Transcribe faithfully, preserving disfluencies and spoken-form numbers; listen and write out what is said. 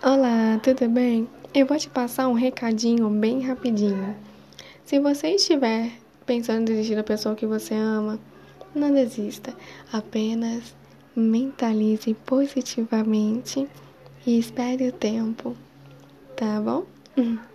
Olá, tudo bem? Eu vou te passar um recadinho bem rapidinho. Se você estiver pensando em desistir da pessoa que você ama, não desista. Apenas mentalize positivamente e espere o tempo, tá bom?